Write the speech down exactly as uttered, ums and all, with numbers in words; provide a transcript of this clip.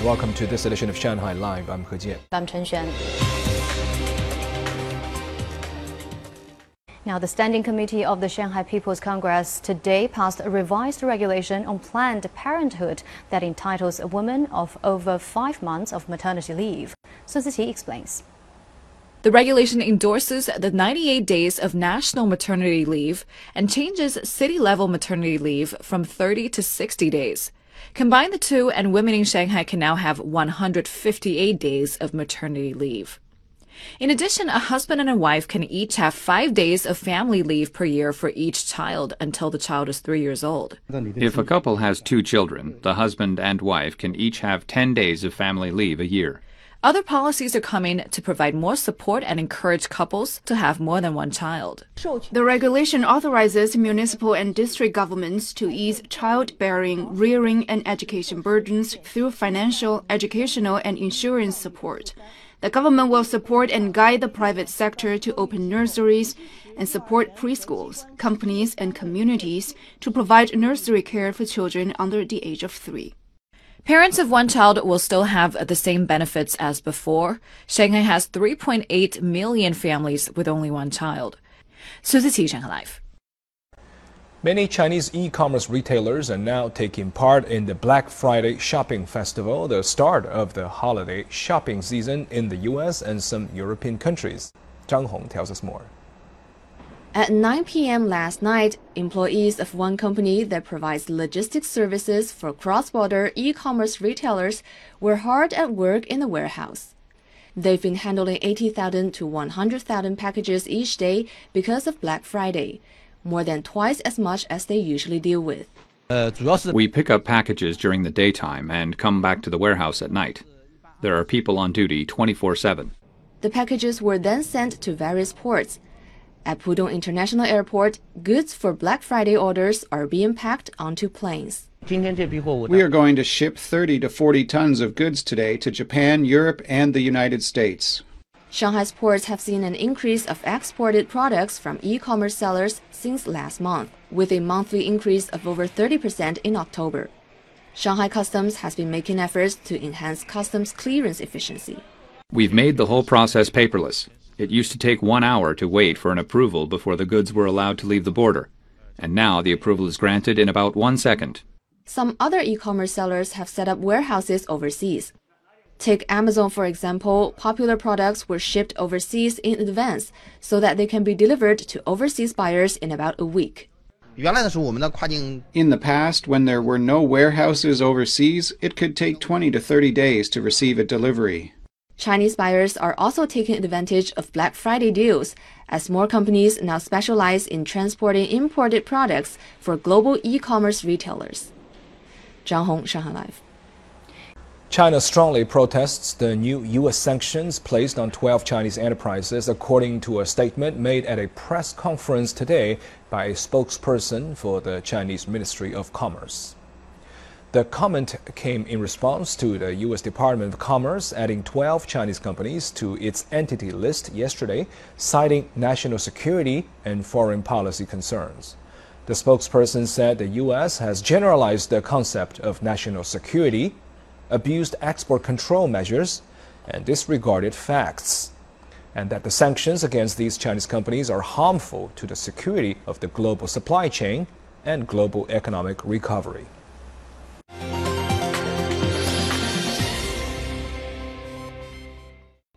welcome to this edition of Shanghai Live. I'm He Jian. I'm Chen Xuan. Now, the Standing Committee of the Shanghai People's Congress today passed a revised regulation on Planned Parenthood that entitles a woman of over five months of maternity leave. Sun Ziti explains. The regulation endorses the ninety-eight days of national maternity leave and changes city-level maternity leave from thirty to sixty days. Combine the two, and women in Shanghai can now have one hundred fifty-eight days of maternity leave. In addition, a husband and a wife can each have five days of family leave per year for each child until the child is three years old. If a couple has two children, the husband and wife can each have ten days of family leave a year. Other policies are coming to provide more support and encourage couples to have more than one child. The regulation authorizes municipal and district governments to ease childbearing, rearing, and education burdens through financial, educational, and insurance support. The government will support and guide the private sector to open nurseries and support preschools, companies, and communities to provide nursery care for children under the age of three. Parents of one child will still have the same benefits as before. Shanghai has three point eight million families with only one child. Sun Ziti, Shanghai Live. Many Chinese e-commerce retailers are now taking part in the Black Friday Shopping Festival, the start of the holiday shopping season in the U S and some European countries. Zhang Hong tells us more. At nine p m last night, employees of one company that provides logistics services for cross-border e-commerce retailers were hard at work in the warehouse. They've been handling eighty thousand to one hundred thousand packages each day because of Black Friday, more than twice as much as they usually deal with. We pick up packages during the daytime and come back to the warehouse at night. There are people on duty twenty-four seven. The packages were then sent to various ports. At Pudong International Airport, goods for Black Friday orders are being packed onto planes. We are going to ship thirty to forty tons of goods today to Japan, Europe, and the United States. Shanghai's ports have seen an increase of exported products from e-commerce sellers since last month, with a monthly increase of over thirty percent in October. Shanghai Customs has been making efforts to enhance customs clearance efficiency. We've made the whole process paperless. It used to take one hour to wait for an approval before the goods were allowed to leave the border, and now the approval is granted in about one second. Some other e-commerce sellers have set up warehouses overseas. Take Amazon, for example. Popular products were shipped overseas in advance so that they can be delivered to overseas buyers in about a week. In the past, when there were no warehouses overseas, it could take twenty to thirty days to receive a delivery. Chinese buyers are also taking advantage of Black Friday deals, as more companies now specialize in transporting imported products for global e-commerce retailers. Zhang Hong, Shanghai Live. China strongly protests the new U S sanctions placed on twelve Chinese enterprises, according to a statement made at a press conference today by a spokesperson for the Chinese Ministry of Commerce. The comment came in response to the U S Department of Commerce adding twelve Chinese companies to its entity list yesterday, citing national security and foreign policy concerns. The spokesperson said the U S has generalized the concept of national security, abused export control measures, and disregarded facts, and that the sanctions against these Chinese companies are harmful to the security of the global supply chain and global economic recovery.